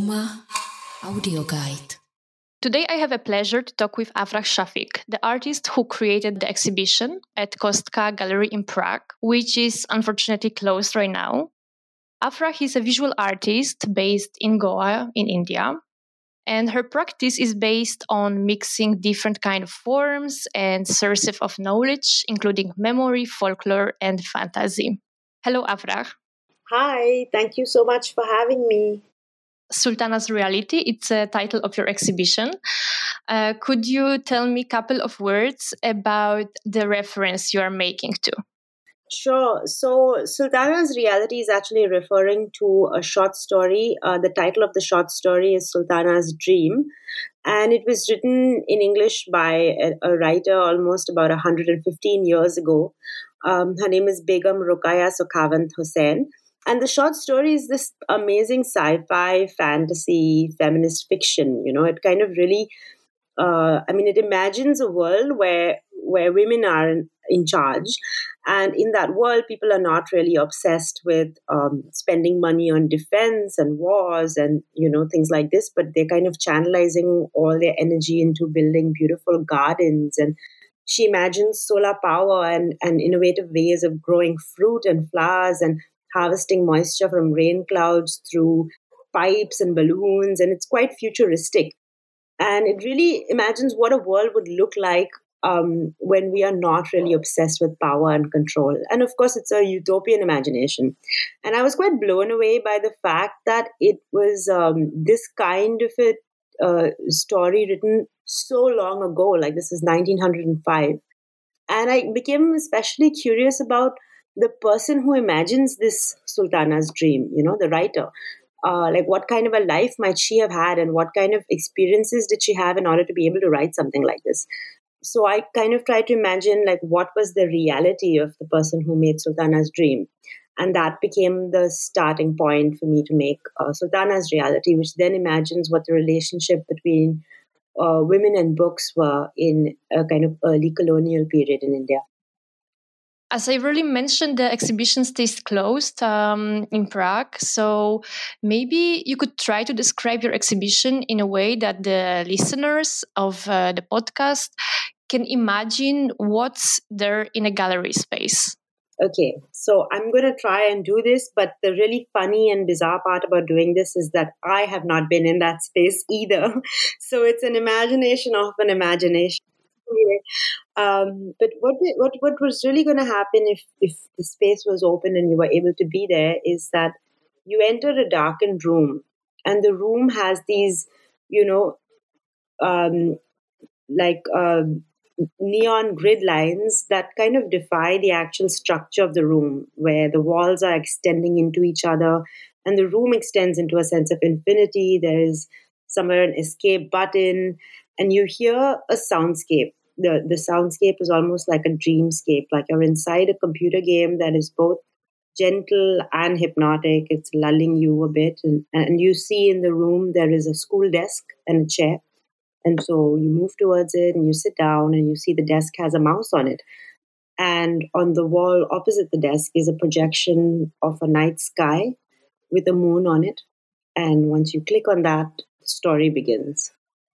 Aroma Audio Guide. Today I have a pleasure to talk with Afrah Shafik, the artist who created the exhibition at Kostka Gallery in Prague, which is unfortunately closed right now. Afrah is a visual artist based in Goa in India, and her practice is based on mixing different kind of forms and sources of knowledge, including memory, folklore, and fantasy. Hello, Afrah. Hi, thank you so much for having me. Sultana's Reality, it's a title of your exhibition. Could you tell me a couple of words about the reference you are making to? Sure. So, Sultana's Reality is actually referring to a short story. The title of the short story is Sultana's Dream, and it was written in English by a writer almost about 115 years ago. Her name is Begum Rokeya Sukhavand Hossain. And the short story is this amazing sci-fi, fantasy, feminist fiction. It kind of really, it imagines a world where women are in charge. And in that world, people are not really obsessed with spending money on defense and wars and, things like this, but they're kind of channelizing all their energy into building beautiful gardens. And she imagines solar power and innovative ways of growing fruit and flowers and harvesting moisture from rain clouds through pipes and balloons. And it's quite futuristic. And it really imagines what a world would look like when we are not really obsessed with power and control. And of course, it's a utopian imagination. And I was quite blown away by the fact that it was this kind of a story written so long ago, like this is 1905. And I became especially curious about the person who imagines this Sultana's dream, the writer. Like what kind of a life might she have had and what kind of experiences did she have in order to be able to write something like this? So I kind of tried to imagine like what was the reality of the person who made Sultana's dream. And that became the starting point for me to make Sultana's Reality, which then imagines what the relationship between women and books were in a kind of early colonial period in India. As I already mentioned, the exhibition stays closed in Prague. So maybe you could try to describe your exhibition in a way that the listeners of the podcast can imagine what's there in a gallery space. Okay, so I'm going to try and do this, but the really funny and bizarre part about doing this is that I have not been in that space either. So it's an imagination of an imagination. But what was really going to happen if the space was open and you were able to be there is that you enter a darkened room, and the room has these, neon grid lines that kind of defy the actual structure of the room, where the walls are extending into each other and the room extends into a sense of infinity. There is somewhere an escape button, and you hear a soundscape. The soundscape is almost like a dreamscape, like you're inside a computer game that is both gentle and hypnotic. It's lulling you a bit. And you see in the room there is a school desk and a chair. And so you move towards it and you sit down and you see the desk has a mouse on it. And on the wall opposite the desk is a projection of a night sky with a moon on it. And once you click on that, the story begins.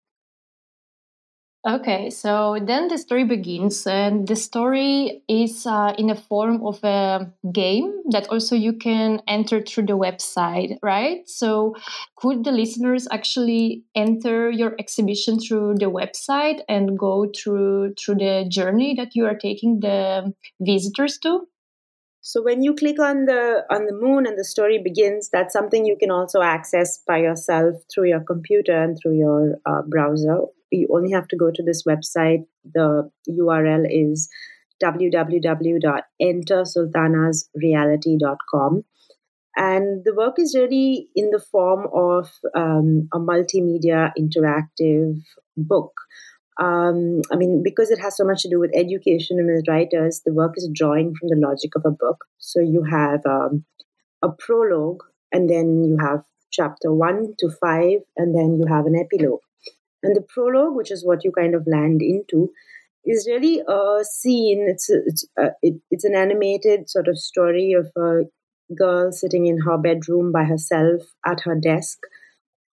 Okay, so then the story begins, and the story is in a form of a game that also you can enter through the website, right? So could the listeners actually enter your exhibition through the website and go through the journey that you are taking the visitors to? So when you click on the moon and the story begins, that's something you can also access by yourself through your computer and through your browser. You only have to go to this website. The URL is www.entersultanasreality.com. And the work is really in the form of a multimedia interactive book. Because it has so much to do with education and with writers, the work is drawing from the logic of a book. So you have a prologue, and then you have chapter 1 to 5, and then you have an epilogue. And the prologue, which is what you kind of land into, is really a scene. It's an animated sort of story of a girl sitting in her bedroom by herself at her desk,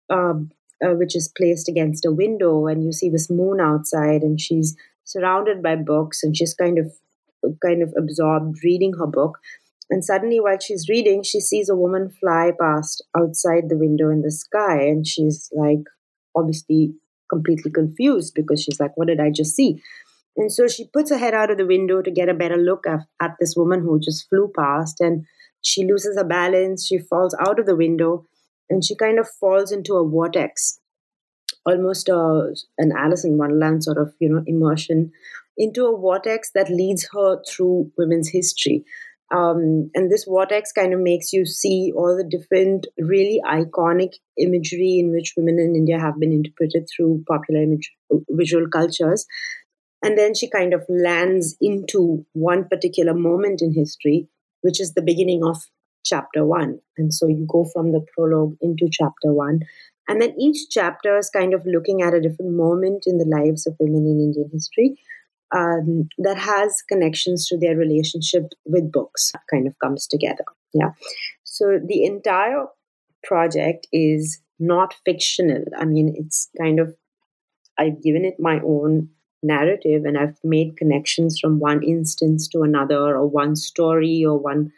which is placed against a window, and you see this moon outside, and she's surrounded by books, and she's kind of absorbed reading her book. And suddenly, while she's reading, she sees a woman fly past outside the window in the sky, and she's like, obviously completely confused, because she's like, what did I just see? And so she puts her head out of the window to get a better look at this woman who just flew past, and she loses her balance. She falls out of the window, and she kind of falls into a vortex, almost an Alice in Wonderland sort of, immersion into a vortex that leads her through women's history. And this vortex kind of makes you see all the different really iconic imagery in which women in India have been interpreted through popular visual cultures. And then she kind of lands into one particular moment in history, which is the beginning of chapter 1. And so you go from the prologue into chapter 1. And then each chapter is kind of looking at a different moment in the lives of women in Indian history that has connections to their relationship with books, kind of comes together. Yeah. So the entire project is not fictional. I mean, it's kind of, I've given it my own narrative, and I've made connections from one instance to another, or one story, or one,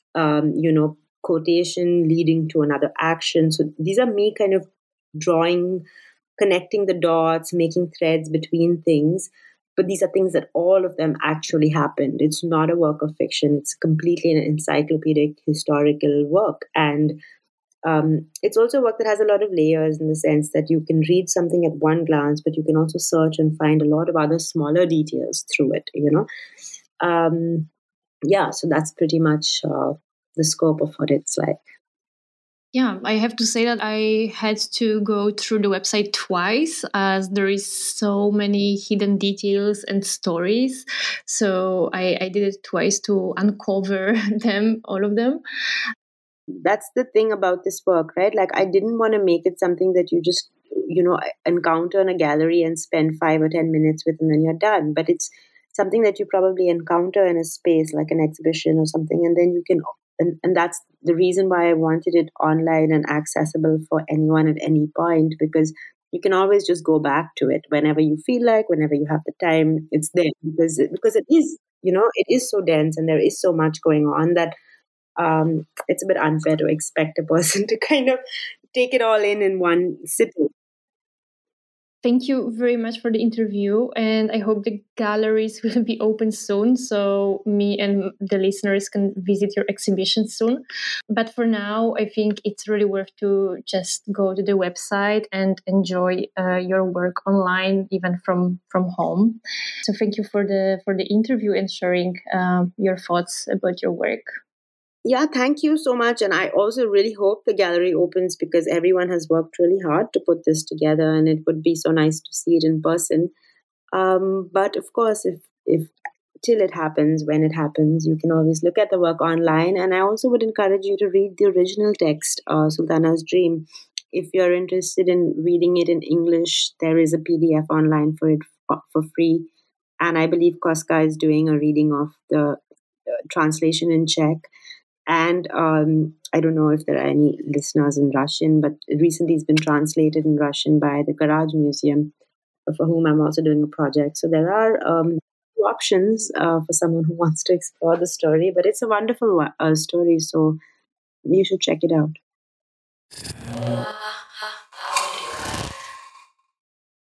quotation leading to another action. So these are me kind of connecting the dots, making threads between things. But these are things that all of them actually happened. It's not a work of fiction. It's completely an encyclopedic historical work. And it's also a work that has a lot of layers, in the sense that you can read something at one glance, but you can also search and find a lot of other smaller details through it, so that's pretty much the scope of what it's like. Yeah, I have to say that I had to go through the website twice, as there is so many hidden details and stories. So I did it twice to uncover them, all of them. That's the thing about this work, right? Like, I didn't want to make it something that you just, encounter in a gallery and spend 5 or 10 minutes with, and then you're done. But it's something that you probably encounter in a space like an exhibition or something, and then you can, and that's the reason why I wanted it online and accessible for anyone at any point, because you can always just go back to it whenever you feel like, whenever you have the time. It's there because it is, it is so dense, and there is so much going on that it's a bit unfair to expect a person to kind of take it all in one sitting. Thank you very much for the interview, and I hope the galleries will be open soon, so me and the listeners can visit your exhibition soon. But for now, I think it's really worth to just go to the website and enjoy your work online, even from home. So thank you for the interview and sharing your thoughts about your work. Yeah, thank you so much. And I also really hope the gallery opens, because everyone has worked really hard to put this together, and it would be so nice to see it in person. But of course, if till it happens, when it happens, you can always look at the work online. And I also would encourage you to read the original text, Sultana's Dream. If you're interested in reading it in English, there is a PDF online for it for free. And I believe Koska is doing a reading of the translation in Czech. And I don't know if there are any listeners in Russian, but recently it's been translated in Russian by the Garage Museum, for whom I'm also doing a project. So there are options for someone who wants to explore the story, but it's a wonderful story, so you should check it out.